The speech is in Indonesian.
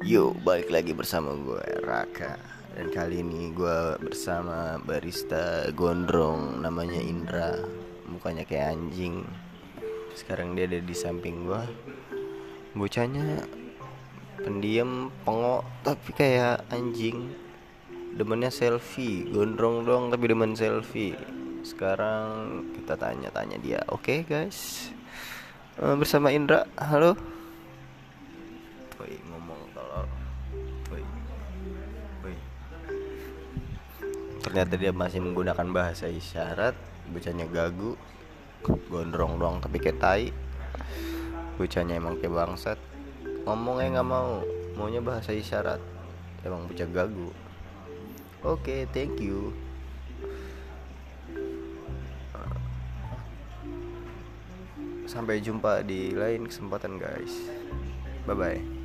Yo, balik lagi bersama gue Raka. Dan kali ini gue bersama barista gondrong namanya Indra. Mukanya kayak anjing. Sekarang dia ada di samping gue. Bocahnya pendiam, pengok, tapi kayak anjing. Demennya selfie, gondrong dong tapi demen selfie. Sekarang kita tanya-tanya dia. Oke, guys. Bersama Indra. Halo. Woi, ngomong kalau woi, woi. Ternyata dia masih menggunakan bahasa isyarat. Bocahnya gagu, gondrong doang tapi kayak tai. Bocahnya emang kayak bangsat. Ngomongnya nggak mau, maunya bahasa isyarat. Emang bocah gagu. Oke, thank you. Sampai jumpa di lain kesempatan, guys. Bye bye.